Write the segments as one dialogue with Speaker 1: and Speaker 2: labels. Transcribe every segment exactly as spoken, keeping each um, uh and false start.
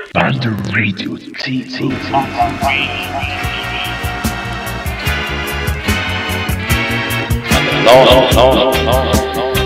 Speaker 1: Banda Radio T V. No, no, no, no, no, no.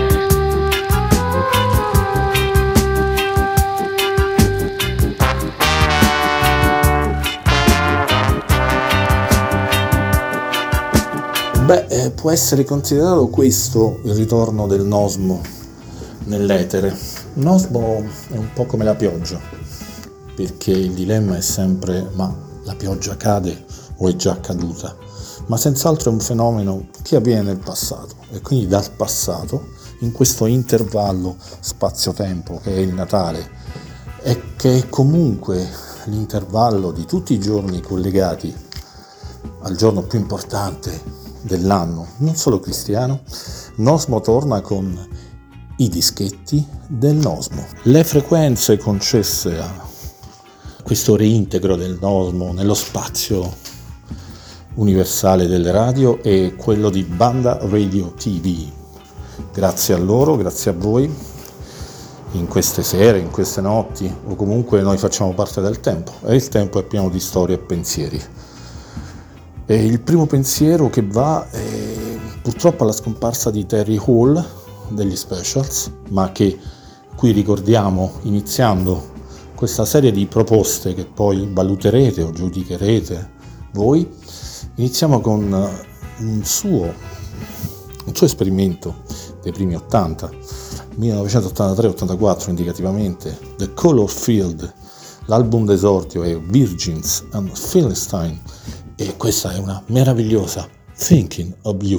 Speaker 2: Beh, eh, può essere considerato questo il ritorno del Nosmo nell'etere. Nosmo è un po' come la pioggia, perché il dilemma è sempre: ma la pioggia cade o è già caduta? Ma senz'altro è un fenomeno che avviene nel passato, e quindi dal passato, in questo intervallo spazio-tempo che è il Natale, e che è comunque l'intervallo di tutti i giorni collegati al giorno più importante dell'anno, non solo cristiano, Nosmo torna con i dischetti del Nosmo. Le frequenze concesse a questo reintegro del Nosmo nello spazio universale delle radio è quello di Banda Radio T V. Grazie a loro, grazie a voi, in queste sere, in queste notti, o comunque noi facciamo parte del tempo, e il tempo è pieno di storie e pensieri. E il primo pensiero che va è purtroppo alla scomparsa di Terry Hall degli Specials, ma che qui ricordiamo iniziando questa serie di proposte che poi valuterete o giudicherete voi. Iniziamo con un suo, un suo esperimento dei primi ottanta, millenovecentottantatré ottantaquattro indicativamente, The Color Field. L'album d'esordio è Virgins and Philistine, e questa è una meravigliosa Thinking of You.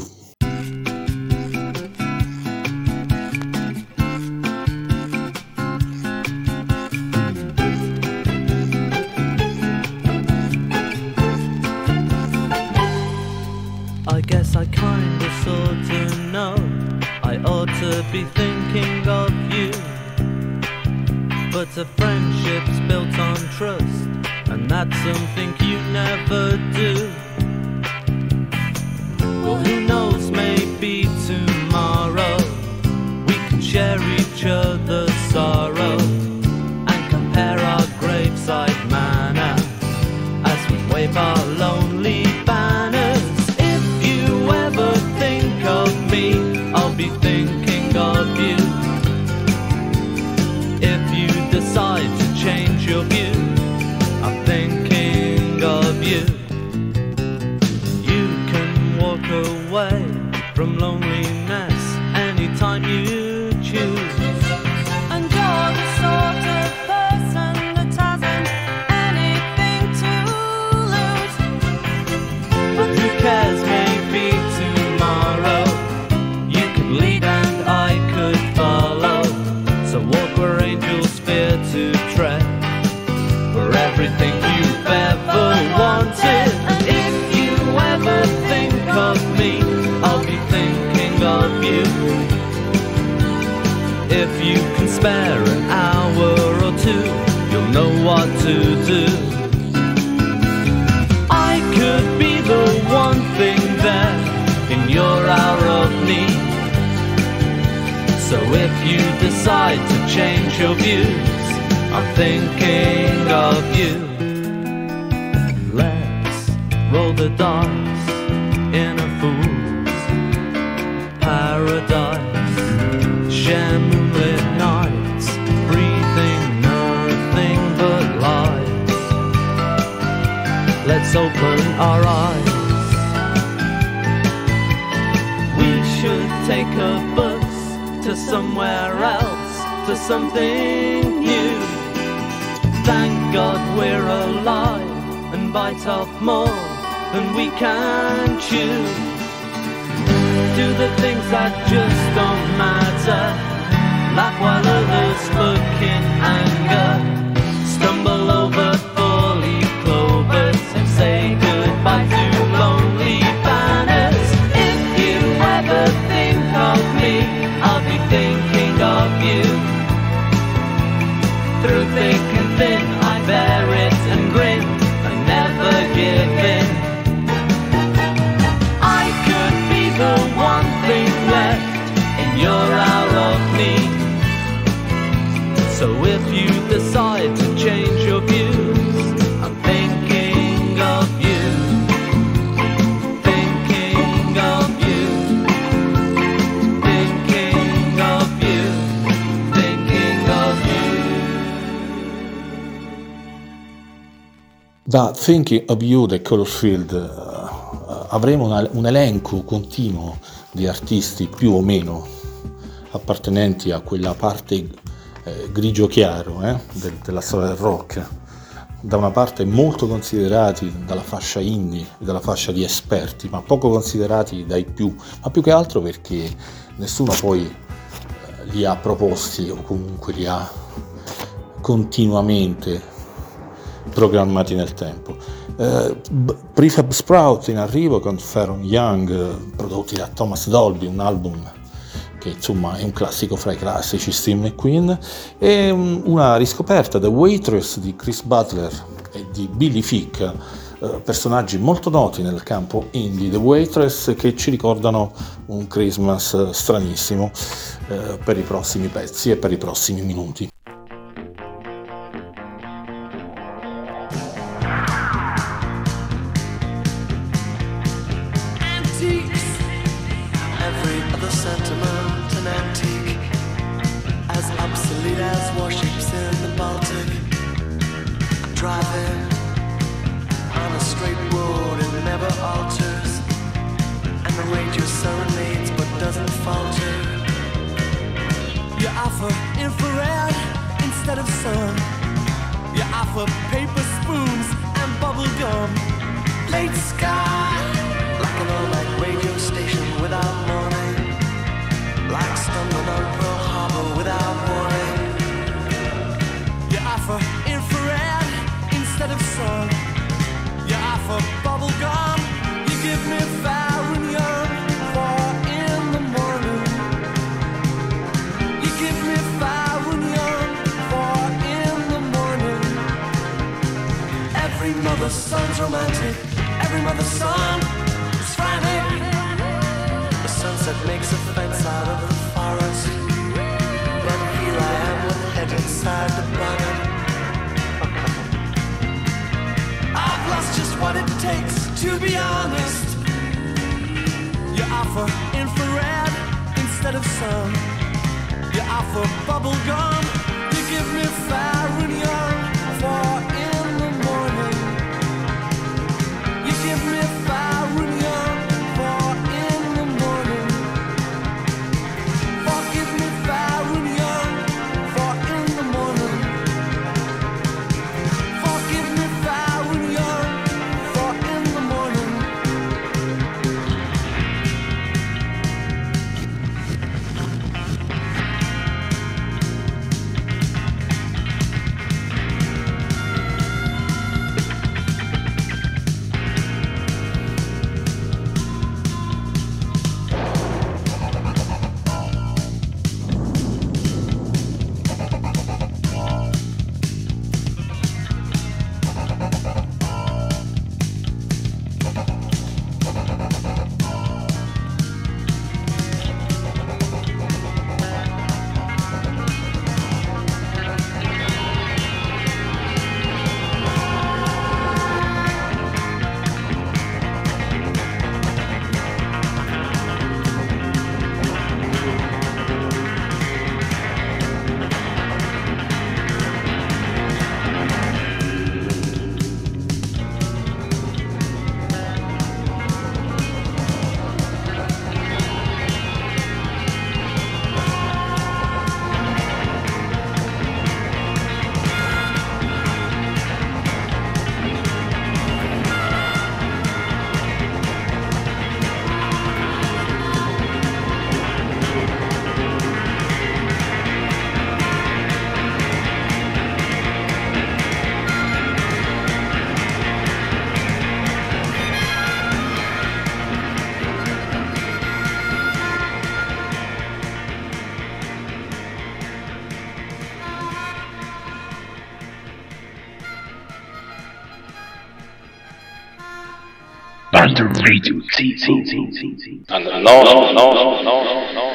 Speaker 3: I guess I kinda sorta know I ought to be thinking of you, but a friendship's built on trust, and that's something you never do. Well, who knows, maybe tomorrow we can share each other's sorrow and compare our graveside manner as we wave our lonely banners. If you ever think of me, I'll be thinking of you. If you decide to change your view, I'm thinking of you. You can walk away from loneliness anytime you choose.
Speaker 4: And you're the sort of person that hasn't anything to lose.
Speaker 3: But who cares, maybe tomorrow you could lead and I could follow. So walk where angels fear to tread, for everything you've ever wanted. And if you ever think of me, I'll be thinking of you. If you can spare an hour or two, you'll know what to do. I could be the one thing there in your hour of need. So if you decide to change your views, I'm thinking of you. Let's roll the dice in a fool's paradise. Share moonlit nights, breathing nothing but lies. Let's open our eyes. We should take a bus to somewhere else, to something new. Thank God we're alive and bite off more than we can chew. Do the things that just don't matter, laugh while others look in anger, stumble over four-leaf clovers and say goodbye to lonely banners. If you ever think of me, I'll be thinking of you. Through thick and thin, I bear it and grin, I never give in. I could be the one thing left in your hour of need. So if you decide to change your view,
Speaker 2: But Thinking of You dei Colourfield, uh, avremo una, un elenco continuo di artisti più o meno appartenenti a quella parte eh, grigio chiaro eh, del, della storia del rock, da una parte molto considerati dalla fascia indie, dalla fascia di esperti, ma poco considerati dai più, ma più che altro perché nessuno poi eh, li ha proposti o comunque li ha continuamente programmati nel tempo. Uh, Prefab Sprout in arrivo con Pharoah Young, uh, prodotti da Thomas Dolby, un album che insomma è un classico fra i classici, Steve McQueen, e um, una riscoperta, The Waitress di Chris Butler e di Billy Fick, uh, personaggi molto noti nel campo indie, The Waitress, che ci ricordano un Christmas stranissimo uh, per i prossimi pezzi e per i prossimi minuti.
Speaker 1: Under Radio T T. No, no, no, no, no, no, no.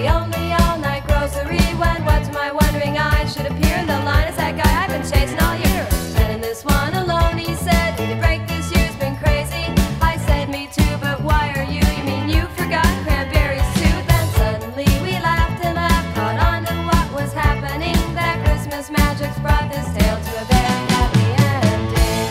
Speaker 4: the only all-night grocery. When what to my wondering eyes should appear in the line is that guy I've been chasing all year. And in this one alone, he said, "Need a break this year's been crazy." I said, "Me too, but why are you? You mean you forgot cranberries too?" Then suddenly we laughed and laughed, caught on to what was happening. That Christmas magic's brought this tale to a very happy ending.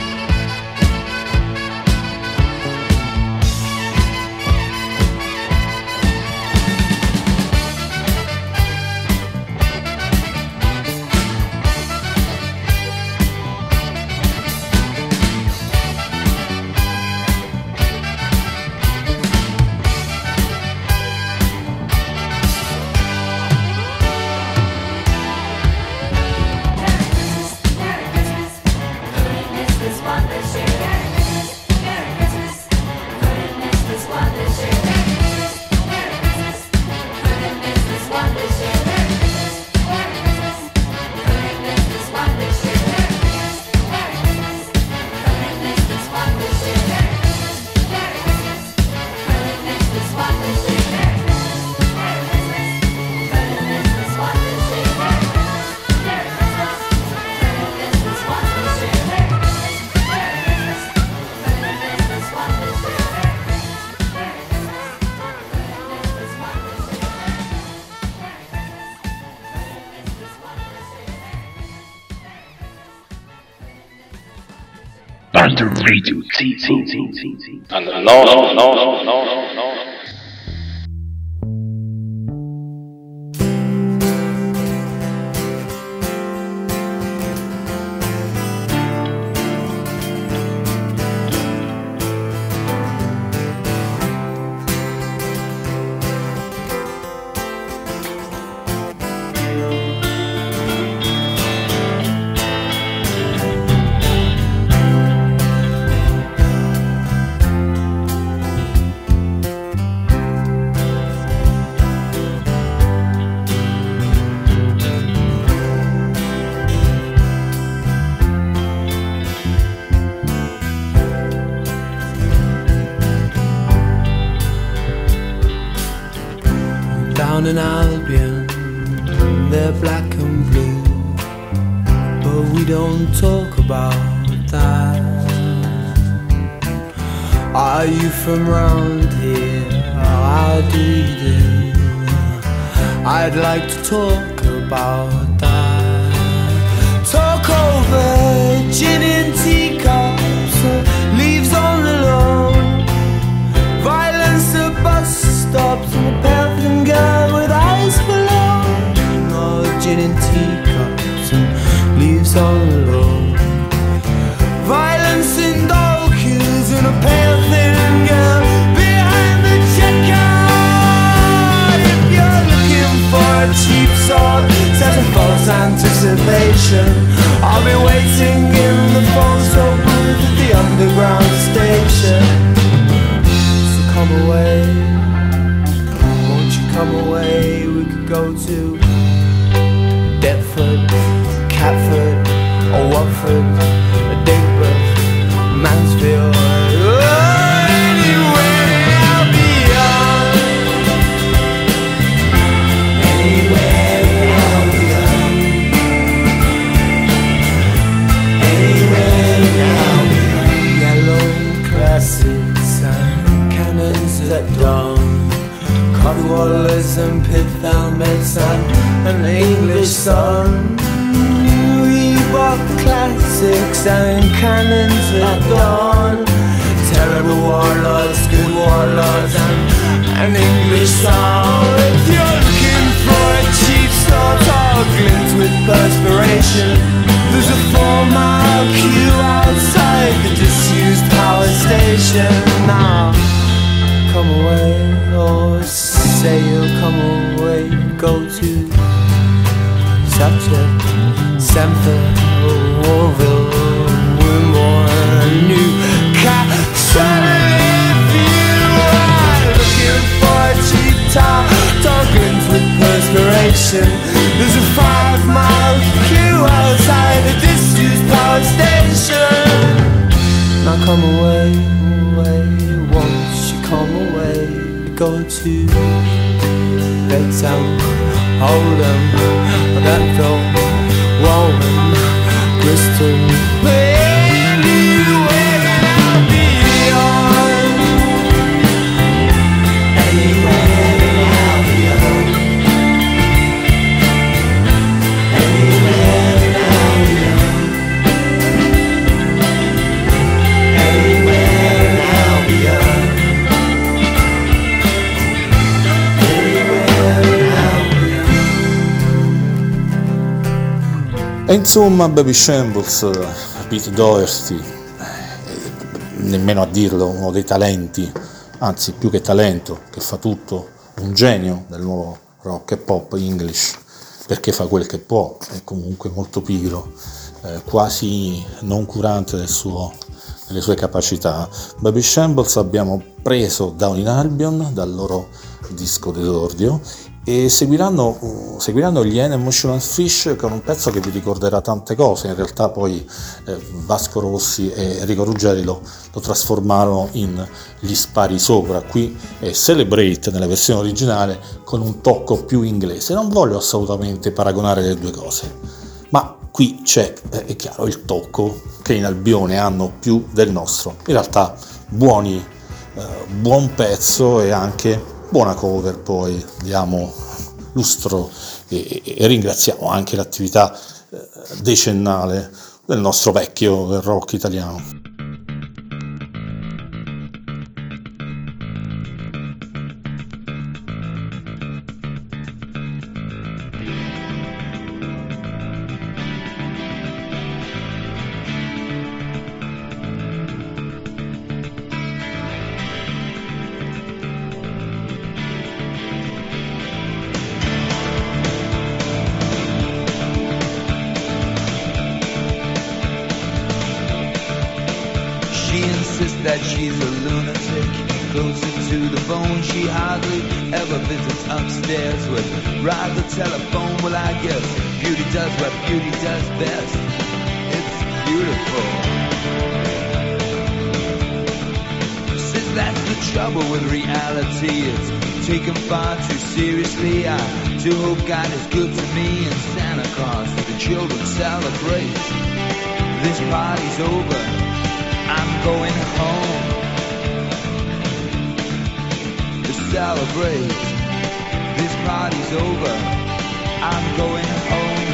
Speaker 1: Under Radio Z Z Z Z. And no, no, no, no, no, no.
Speaker 5: Down in Albion, they're black and blue, but we don't talk about that. Are you from round here? How do you do? I'd like to talk about that. Talk over gin and teacups, leaves on the lawn, violence at bus stops, and a pale girl with eyes below. No gin and teacups and leaves on the lawn, violence in dog queues, and a pale thin girl behind the checkout. If you're looking for a cheap sword set a false anticipation, I'll be waiting in the phone so booth at the underground station. So come away, come away, we could go to Deptford, Catford, or Watford, or Digbeth, Mansfield, oh, anywhere beyond, anywhere beyond, anywhere beyond. Yellow classics and cannons at dawn, Codwallers and pith helmets and an English sun. We bought classics and cannons at dawn, terrible warlords, good warlords, and an English song. If you're looking for a cheap sort or glint with perspiration, there's a four-mile queue outside the disused power station. Now, come away, or say you'll come away, go to Sutton, Stamford, Warville, Wimborne, Newcastle. If you are looking for a cheap tar, tokens with perspiration, there's a five-mile queue outside the disused power station. Now come away, away, won't you come away, go to Let's um, hold 'em. That thought, Warren, Kristen, anywhere that I'll be on. Anywhere that I'll be on. Anywhere that I'll be on. Anywhere that I'll be on.
Speaker 2: E insomma, Baby Shambles, Pete Doherty, eh, nemmeno a dirlo, uno dei talenti, anzi più che talento, che fa tutto, un genio del nuovo rock e pop English, perché fa quel che può, è comunque molto pigro, eh, quasi non curante del suo, delle sue capacità. Baby Shambles abbiamo preso Down in Albion dal loro disco d'esordio, e seguiranno, seguiranno gli Emotional Fish con un pezzo che vi ricorderà tante cose. In realtà poi eh, Vasco Rossi e Enrico Ruggeri lo, lo trasformarono in Gli spari sopra. Qui è Celebrate nella versione originale con un tocco più inglese. Non voglio assolutamente paragonare le due cose, ma qui c'è, eh, è chiaro, il tocco che in Albione hanno più del nostro. In realtà buoni, eh, buon pezzo e anche buona cover. Poi diamo lustro e, e ringraziamo anche l'attività eh, decennale del nostro vecchio del rock italiano.
Speaker 6: That she's a lunatic, closer to the bone. She hardly ever visits upstairs with rather telephone. Well, I guess beauty does what beauty does best. It's beautiful. Says that's the trouble with reality. It's taken far too seriously. I do hope God is good to me and Santa Claus. The children celebrate. This party's over. I'm going home to celebrate. This party's over. I'm going home.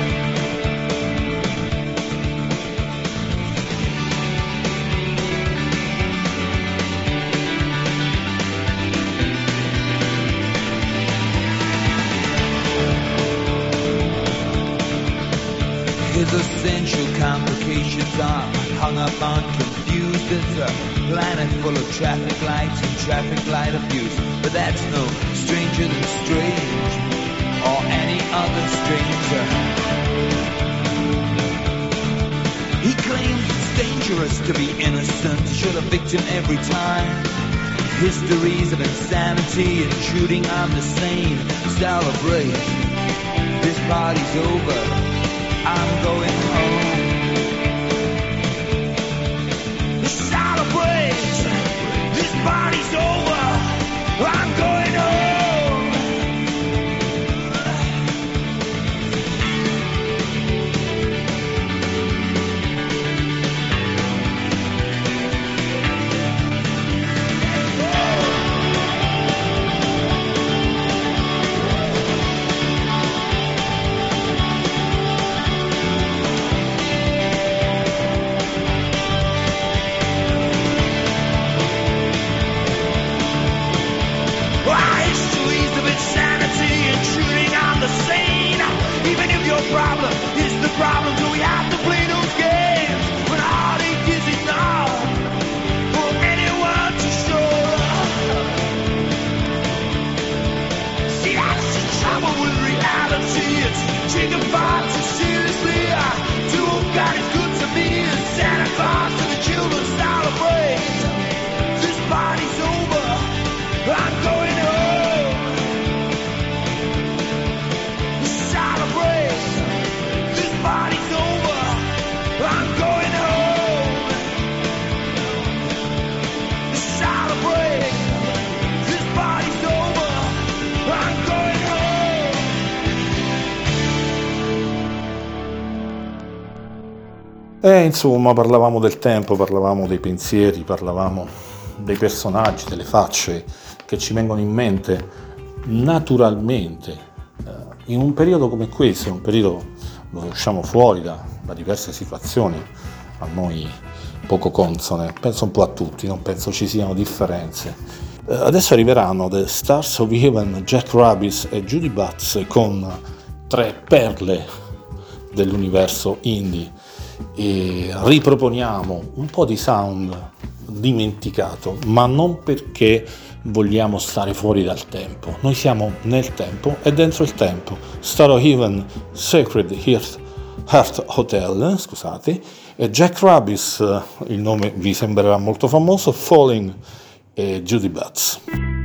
Speaker 6: His essential complications are hung up on confused. It's a planet full of traffic lights and traffic light abuse. But that's no stranger than strange, or any other stranger. He claims it's dangerous to be innocent, shoot a victim every time. Histories of insanity, intruding on the sane. Celebrate, this party's over. I'm going home. Celebrate, this party's over. I'm going home. Problem is the problem, do we have to play those games when heartache is enough for anyone to show? See, that's the trouble with reality, it's taken far too seriously. I do hope God is good to me and Santa Claus and the children celebrate. This party's over, I'm going home. Celebrate. Party's over, I'm going home. Celebrate, this party's over, I'm going home.
Speaker 2: E insomma parlavamo del tempo, parlavamo dei pensieri, parlavamo dei personaggi, delle facce che ci vengono in mente naturalmente eh, in un periodo come questo, un periodo dove usciamo fuori da, da diverse situazioni a noi poco consone, penso un po' a tutti, non penso ci siano differenze. Eh, adesso arriveranno The Stars of Heaven, Jack Rabbit e Judy Butts con tre perle dell'universo indie e riproponiamo un po' di sound dimenticato, ma non perché vogliamo stare fuori dal tempo. Noi siamo nel tempo e dentro il tempo. Star of Heaven, Sacred Heart, Heart Hotel, scusate, e Jack Rabbit, il nome vi sembrerà molto famoso, Falling e Judy Butts.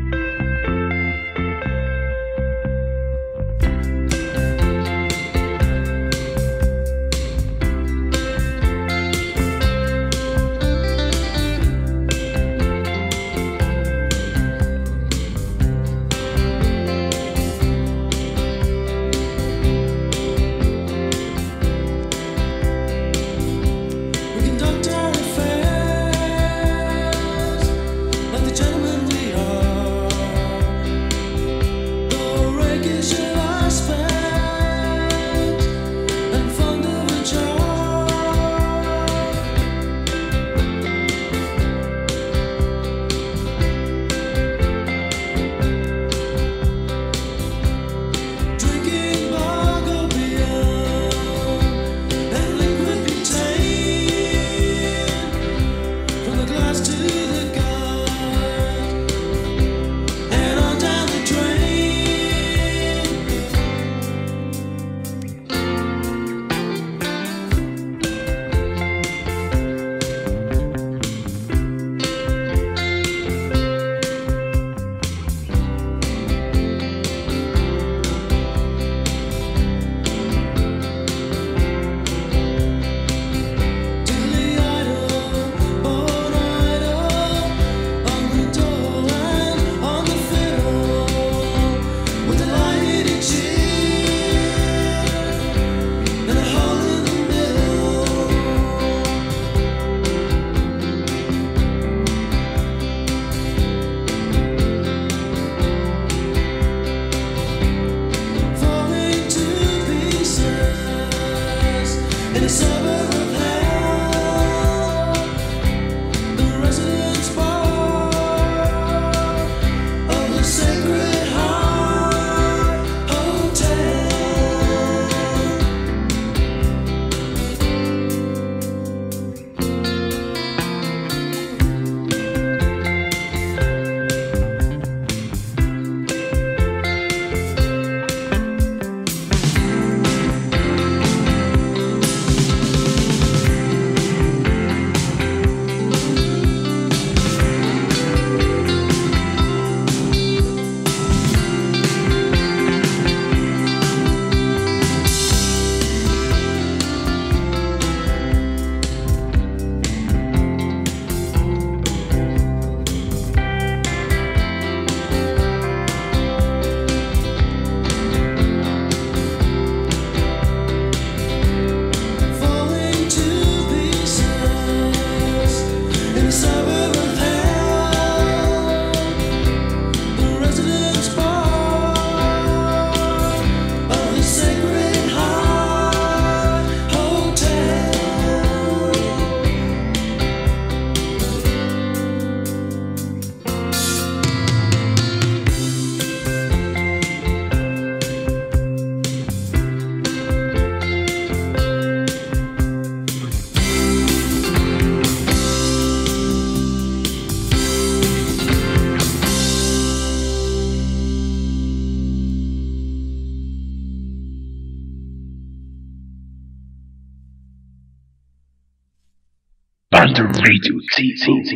Speaker 1: Under Radio Z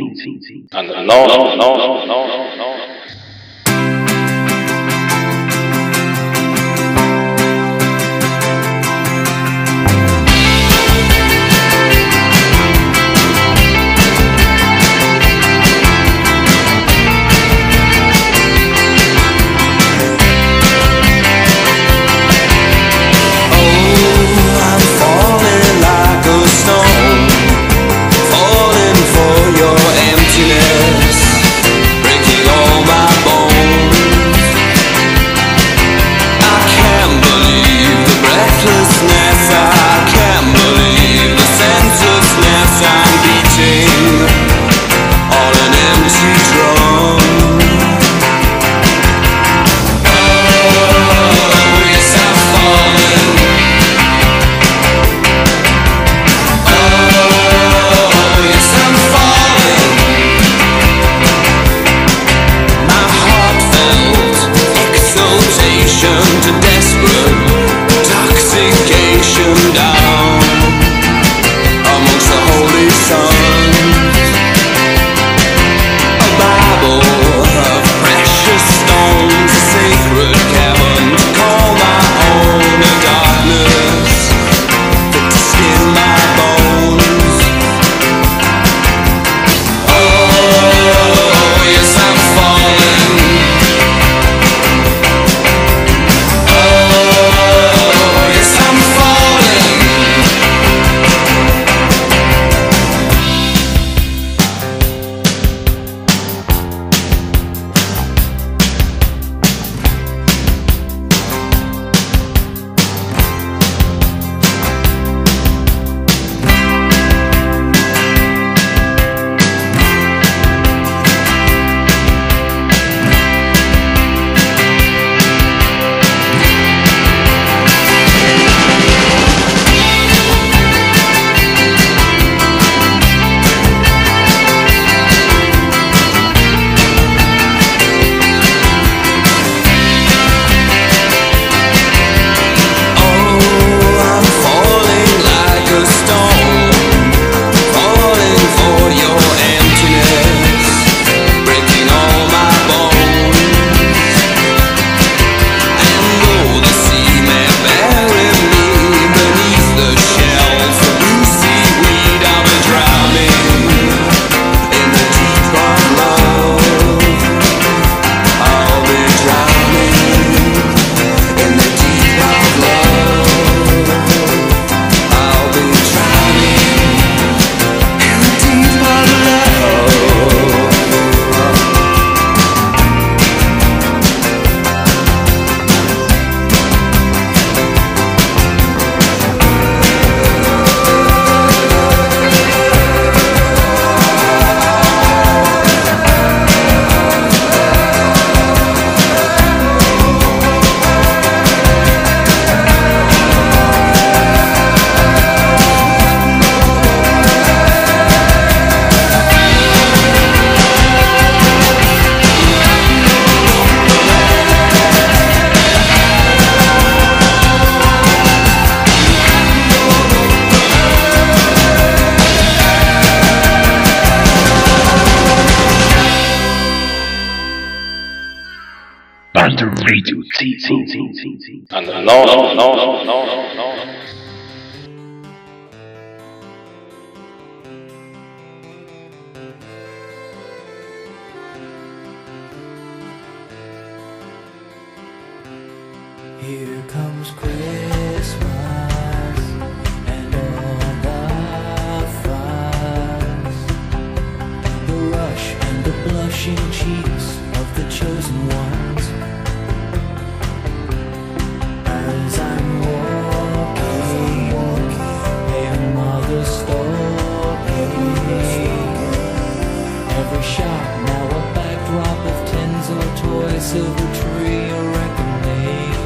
Speaker 1: Z. No, no, no, no, no, no.
Speaker 5: Oh, I'm falling like a stone.
Speaker 1: Under Radio Z. And no, no, no, no, no, no.
Speaker 5: Here comes Christmas and all the fuss, the rush and the blushing cheeks of the chosen ones. As I'm walking, pale mother stalking, every shot now a backdrop of tins or toys, silver tree or reckoning.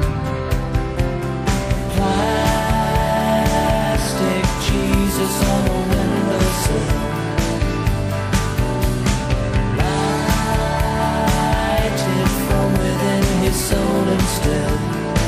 Speaker 5: Jesus on a windowsill, lighted from within his soul and still.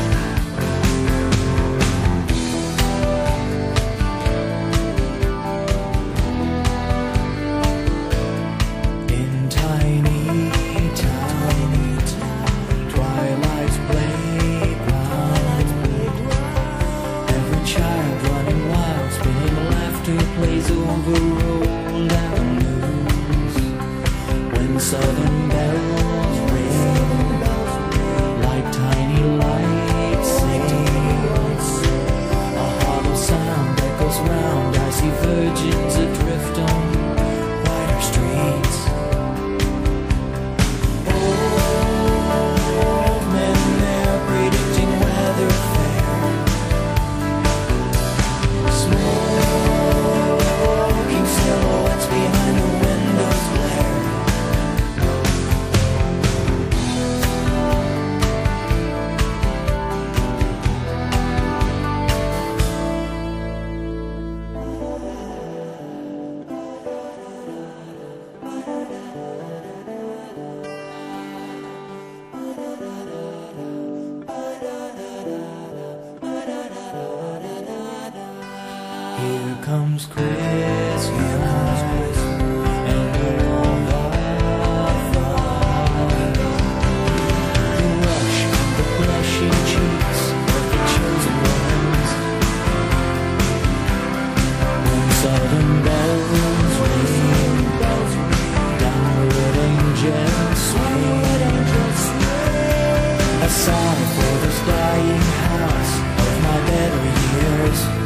Speaker 5: In tiny town, twilight's playground, every child running wild, spinning laughter plays over old avenues. When southern bells ring, like tiny lights sing, a hollow sound echoes round. I see virgins adrift on wider streets. Old men there predicting weather fair, smoking silhouettes behind the window's glare. Here comes Christmas and all the fun, the rush and the blushing cheeks of the chosen ones. When southern bells ring, downward angels swing, a sigh for this dying house of my better years.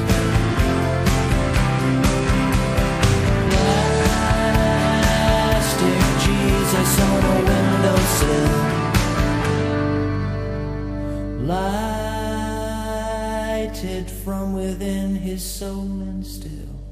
Speaker 5: Jesus on a windowsill, lighted from within his soul and still.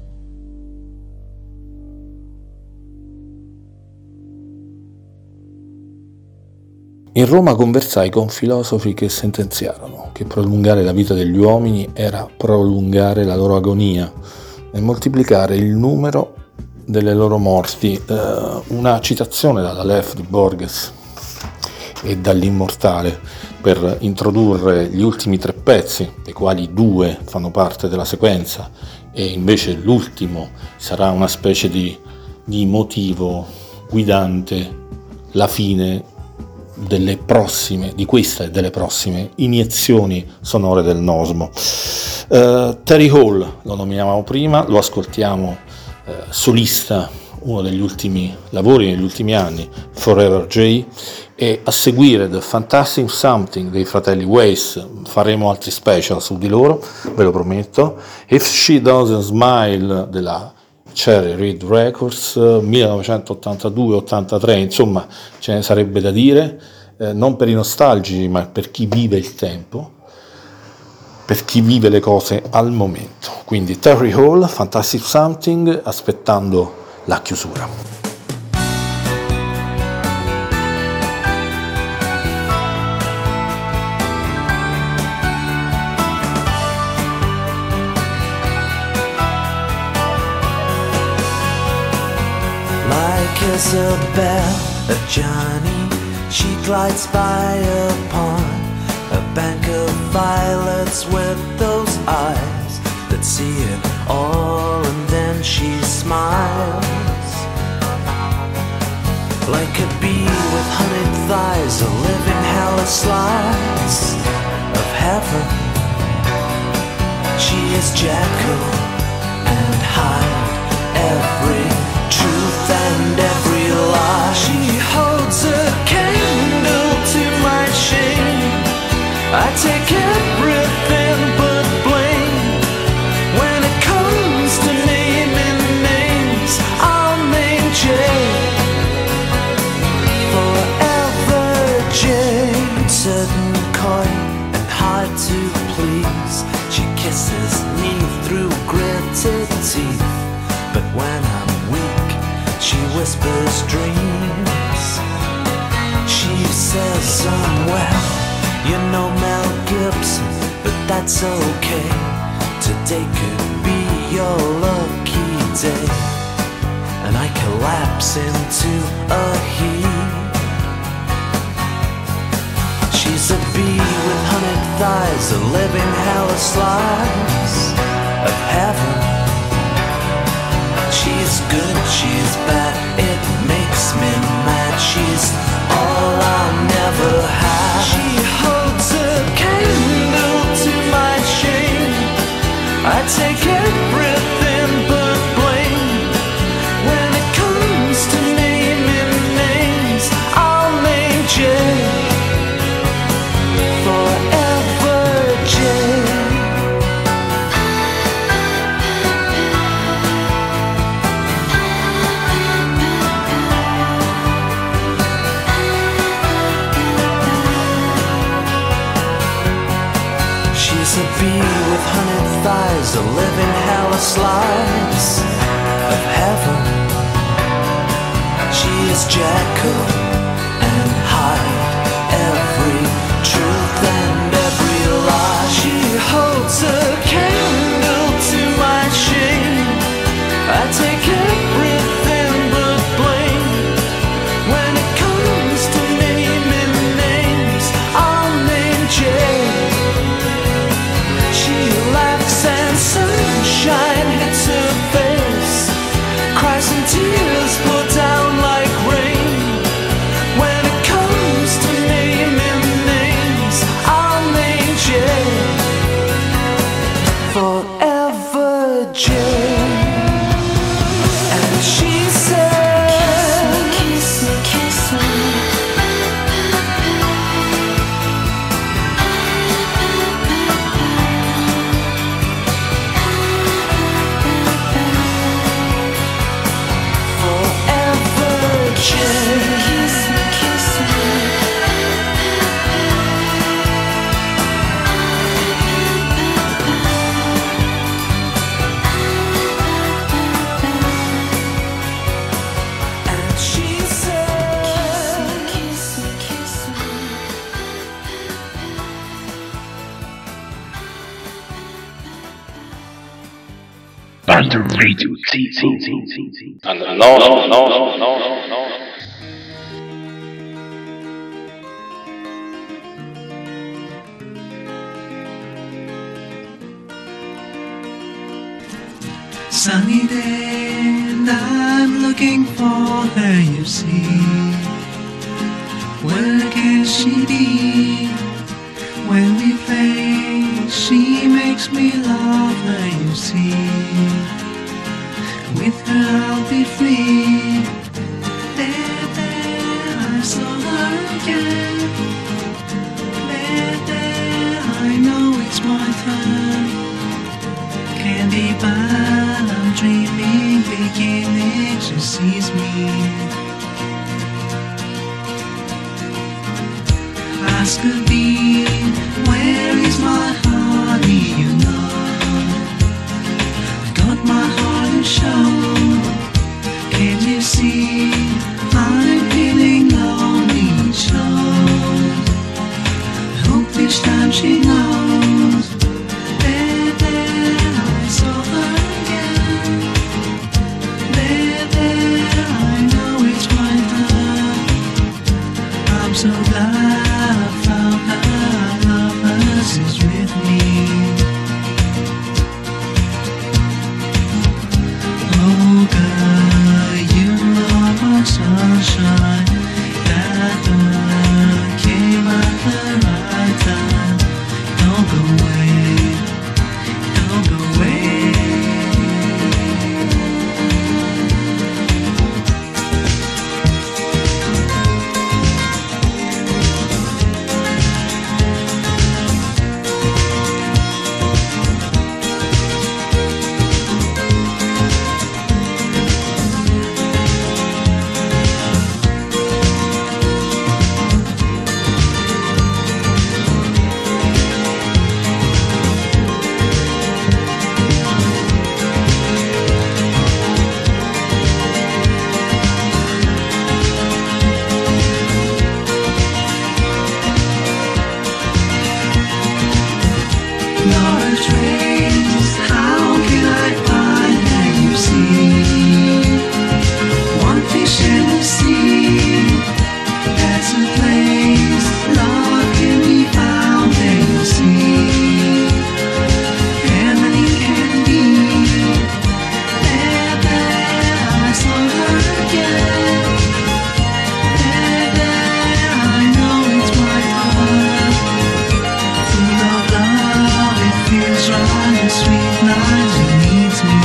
Speaker 2: In Roma conversai con filosofi che sentenziarono che prolungare la vita degli uomini era prolungare la loro agonia e moltiplicare il numero delle loro morti. Uh, una citazione dalla Lef di Borges e dall'Immortale per introdurre gli ultimi tre pezzi, dei quali due fanno parte della sequenza e invece l'ultimo sarà una specie di, di motivo guidante, la fine delle prossime, di questa e delle prossime iniezioni sonore del Nosmo. Uh, Terry Hall lo nominavamo prima, lo ascoltiamo Uh, solista, uno degli ultimi lavori negli ultimi anni, Forever J, e a seguire The Fantastic Something dei fratelli Weiss. Faremo altri special su di loro, ve lo prometto. If She Doesn't Smile della Cherry Reid Records, millenovecentottantadue ottantatré, insomma ce ne sarebbe da dire, eh, non per i nostalgici ma per chi vive il tempo, per chi vive le cose al momento. Quindi Terry Hall, Fantastic Something, aspettando la chiusura.
Speaker 5: Like Isabel, a Johnny, she glides by upon a bank of violets with those eyes that see it all, and then she smiles like a bee with honeyed thighs, a living hell, a slice of heaven. She is Jekyll and Hyde, every truth and every lie. She holds a candle to my shame. I take everything but blame. When it comes to naming names, I'll name Jane. Forever Jane. Certain coy and hard to please. She kisses me through gritted teeth. But when I'm weak, she whispers dreams. She says I'm well, you know Mel Gibson, but that's okay. Today could be your lucky day. And I collapse into a heap. She's a bee with hunted thighs, a living hell, a slice of heaven. She's good, she's bad, it makes me mad. She's all I'll never have. She holds a candle to my shame. I take everything but blame. When it comes to naming names, I'll name Jane. Forever Jane. She's a bee with hunted thighs, a living hell, a slice of heaven. She is Jekyll and Hyde, every truth and every lie. She holds a candle to my shame. I take everything but blame. When it comes to naming names, I'll name Jane. She laughs and sunshine hits her face. Cries and tears pour down like rain. When it comes to naming names, I'll name Jane. Forever Jane. And she said, kiss me, kiss me, kiss me. Forever Jane. Kiss me, kiss me. And she said, kiss me, kiss me.
Speaker 1: Under Radio Z Z. And no, no, no, no, no, no.
Speaker 7: Sunny day, and I'm looking for her, you see. Where can she be? When we play, she makes me love her, you see. With her I'll be free. There, there, I saw her again. There, there, I know it's my turn. Can't be bad, I'm dreaming, beginning, she sees me. Ask her be, where is my honey, you know. I've got my heart to show. Can't you see, I'm feeling lonely, so I hope this time she knows. There, there, I saw her again. There, there, I know it's my heart. I'm so glad I found her, love hers is with me. Oh girl, you are my sunshine, that girl. trace. How can I find that you see? One fish in the sea. There's a place love can be found and you'll see. And many can be. There, there, I saw her again. There, there, I know it's my heart. Full of love, it feels right and sweet night it needs me.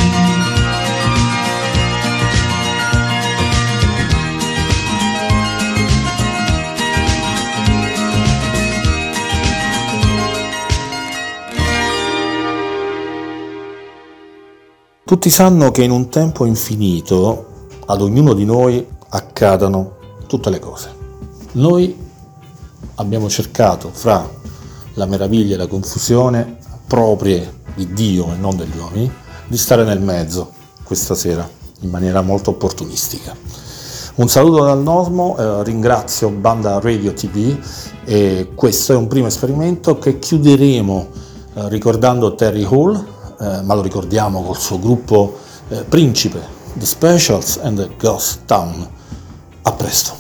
Speaker 2: Tutti sanno che in un tempo infinito ad ognuno di noi accadano tutte le cose. Noi abbiamo cercato, fra la meraviglia e la confusione proprie di Dio e non degli uomini, di stare nel mezzo questa sera in maniera molto opportunistica. Un saluto dal Nosmo, eh, ringrazio Banda Radio T V e questo è un primo esperimento che chiuderemo eh, ricordando Terry Hall, eh, ma lo ricordiamo col suo gruppo eh, principe, The Specials and the Ghost Town. A presto.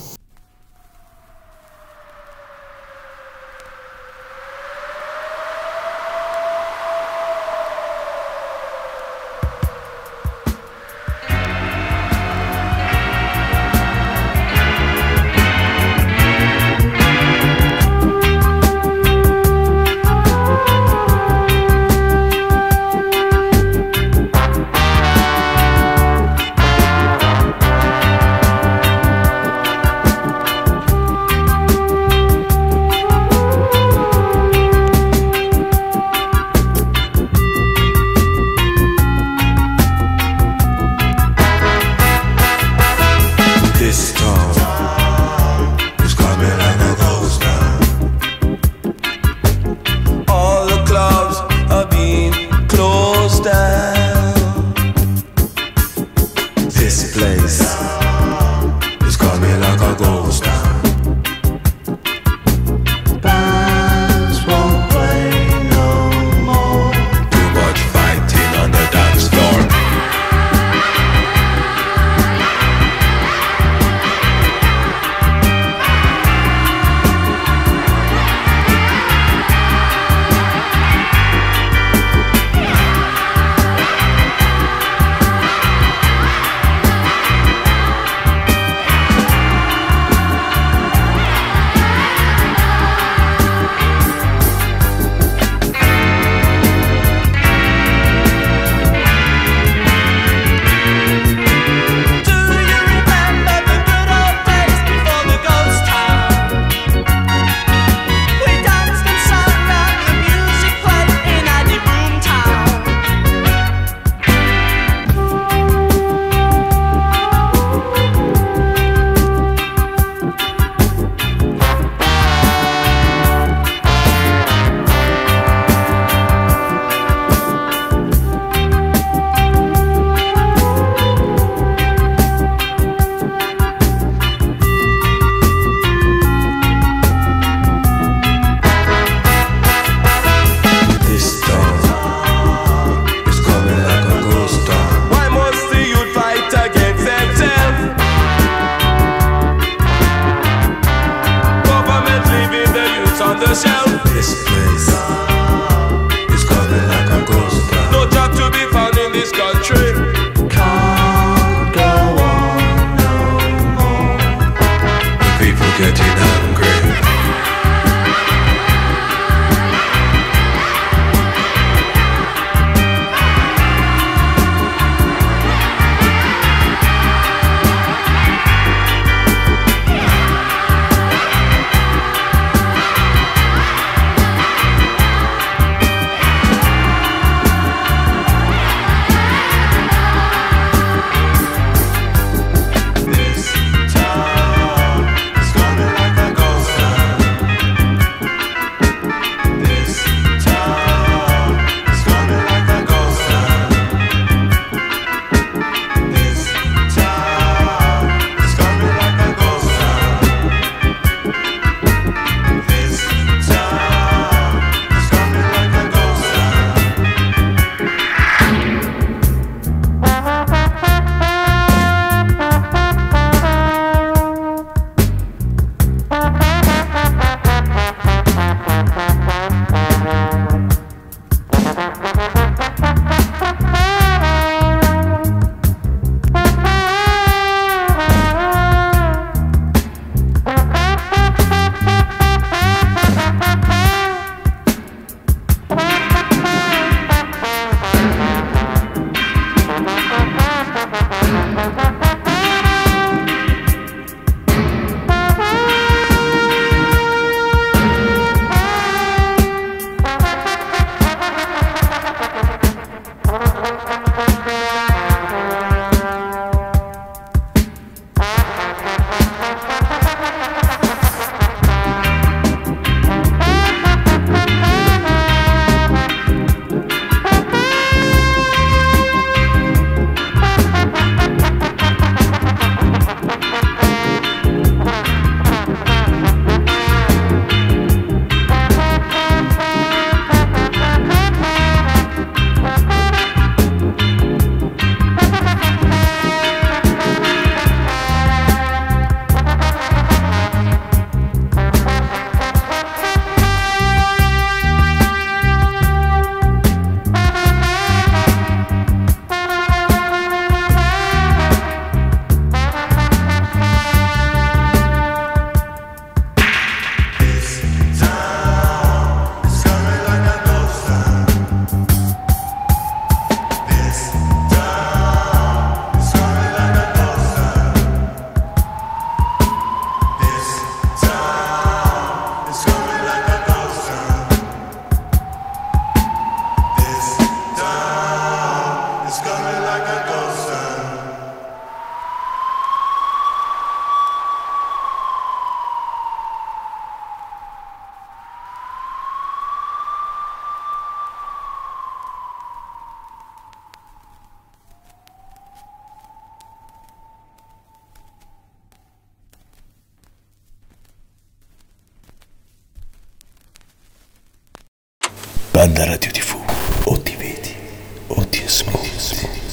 Speaker 8: Banda Radio tivù, o ti vedi o ti ascolti.